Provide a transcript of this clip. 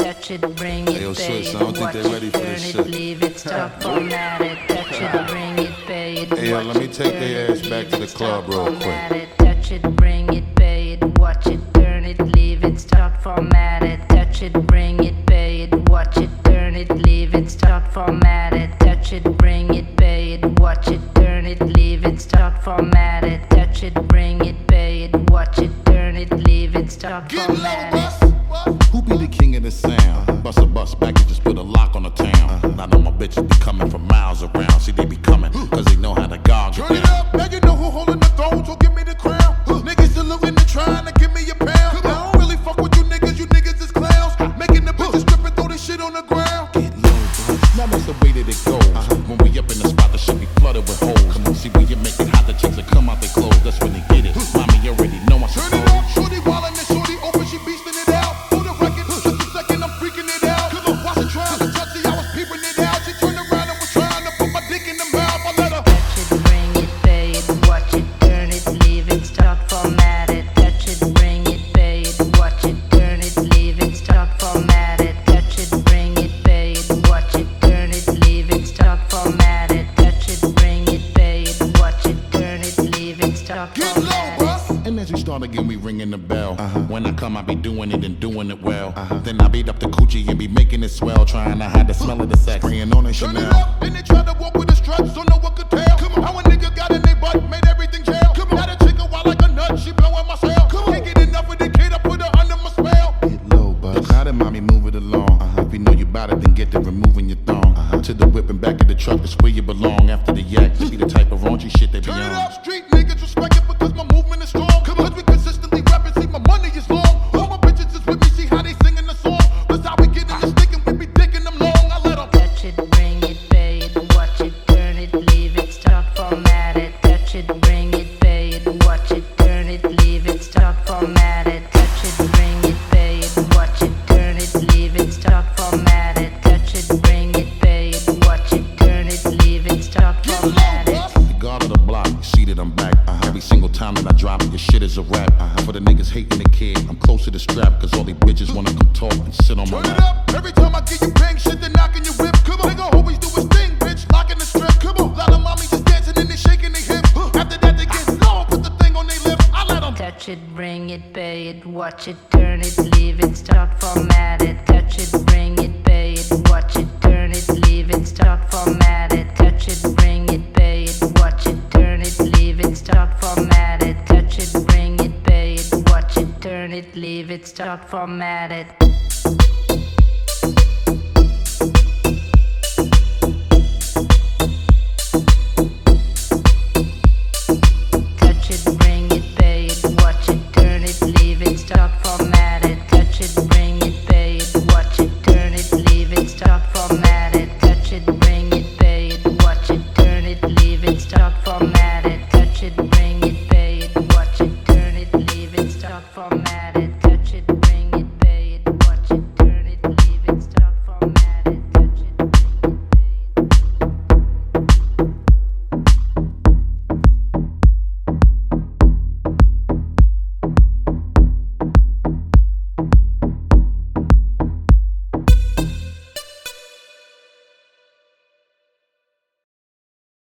touch it, bring it, Hey, yo, pay Switch, it, I don't think watch they it, ready for turn this it, shit. leave it, stop, format it, touch it, bring it, pay it, Hey, yo, watch let me it, take turn their it, ass back leave to the it, club stop, real format quick. it, touch it, bring it, pay it, watch it, turn it, leave it, start, format it, touch it, bring it, pay it, watch it, turn it, leave it, start, format it, touch it, bring it, pay it, watch it, turn it, leave it, start, format it, touch it, bring it, pay it, watch it, turn it, leave it, start, format it. Who be the king of the sound? Bust a bus back and just put a lock on the town. I know my bitches be coming from miles around. See, they be coming, cause they know how to gog it Turn it up, now you know who holding the throne, so give me the crown. Niggas saluting and trying to give me a pound. I don't really fuck with you niggas is clowns. Making the bitches strip and throw this shit on the ground. Get low, bro. Now that's the way that it goes. When we up in the spot, the shit be flooded with holes. Come on, see, we get make it hot, the chicks that come out their clothes. That's when they get it. Mommy already know I Turn it up, shorty wildin' and shorty open, she beastin' it out. For the record, just a second, I'm freaking it out. Watch her trying to touch it, I was peeping it out. She turned around and was trying to put my dick in the mouth. I let her Touch it, bring it, pay it, watch it, turn it, leave it, start, format it. Touch it, bring it, pay it, watch it, turn it, leave it, start, format it. Touch it, bring it, pay it, watch it, turn it, leave it, start, format it. Touch it, bring it, pay it, watch it, turn it, leave it, start, get low, format it. bruh. And as we start again, we ringing the bell. When I come, I be doing it and doing it well. Then I beat up the coochie and be making it swell. Trying to hide the smell of the sex. Spraying on it, Turn it Chanel. up, and they try to walk with a strut, so no one could tell. How a nigga got in they butt, made everything jail. Got a chick a wild like a nut, she blowing my cell. Can't get enough of the kid, I put her under my spell. Get low, bud. Now that mommy, move it along. If you know you bout it, then get to removing your thong. To the whip and back of the truck, that's where you belong. After the yak, to be the type of raunchy shit they be Turn it on. up, street niggas respect it because my movement is strong. Cause we consistently rapping, see my money is long. All my bitches is with me, see how they singing the song. That's how we get in the stick and we be dicking them long. I let them Touch it, bring it, pay it, watch it, turn it, leave it, start, format it. Touch it, bring it, pay it, watch it, turn it, leave it, start, format it. Touch it, bring it, pay it, watch it, turn it, leave it, start, format it. Touch it, bring it, pay it, watch it, turn it, leave it, start, get low, format it. bruh. The guard of the block, you see that I'm back. Every single time that I drop it, your shit is a rap. For the niggas hating the kid, I'm close to the strap. Cause all these bitches wanna come talk and sit on my Turn it lap. up, every time I get you bang shit, they knocking your whip. Come on, nigga always do his thing, bitch, locking the strip. Come on, lot of mommies just dancing and they shaking their hips. After that they get low, put the thing on their lips. I let them Touch it, bring it, pay it, watch it, turn it, leave it, start, format it. Touch it, bring it, pay it, watch it, turn it, leave it, start, format it. Touch it, bring it, pay it, watch it, turn it, leave it, start, format it. Touch it, bring it, pay it, watch it, turn it, leave it, start, format it.